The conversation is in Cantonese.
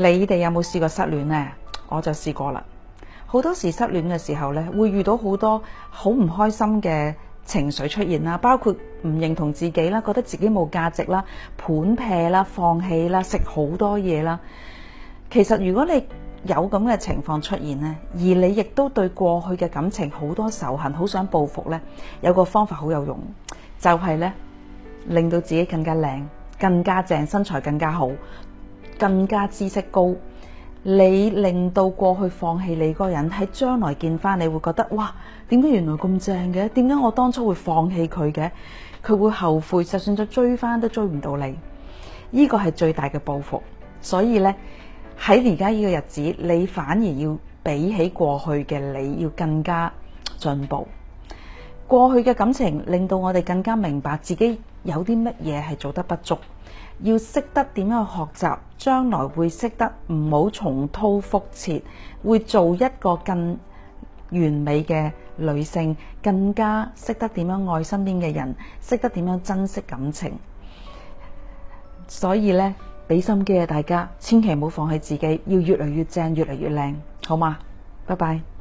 你哋有冇試過失戀呢？我就試過啦。好多時失戀嘅時候呢，會遇到好多好唔開心嘅情緒出現啦，包括唔認同自己啦，覺得自己冇價值啦，盤劈啦，放棄啦，食好多嘢啦。其實如果你有咁嘅情況出現呢，而你亦都對過去嘅感情好多仇恨，好想報復呢，有個方法好有用，就係呢，令到自己更加靚、更加正，身材更加好，更加知識高。你令到過去放棄你嗰個人喺將來見翻你會覺得，哇，點解原來咁正嘅？點解我當初會放棄佢嘅？佢會後悔，就算再追翻都追唔到你。呢個係最大嘅報復。所以呢，喺而家呢個日子，你反而要比起過去嘅你要更加進步。過去嘅感情令到我哋更加明白自己有啲乜嘢係做得不足，要識得點樣去學習，將來會識得唔好重蹈覆轍，會做一個更完美嘅女性，更加識得點樣愛身邊嘅人，識得點樣珍惜感情。所以呢，俾心機啊，大家千祈唔好放棄自己，要越嚟越正，越嚟越靚，好嗎？拜拜。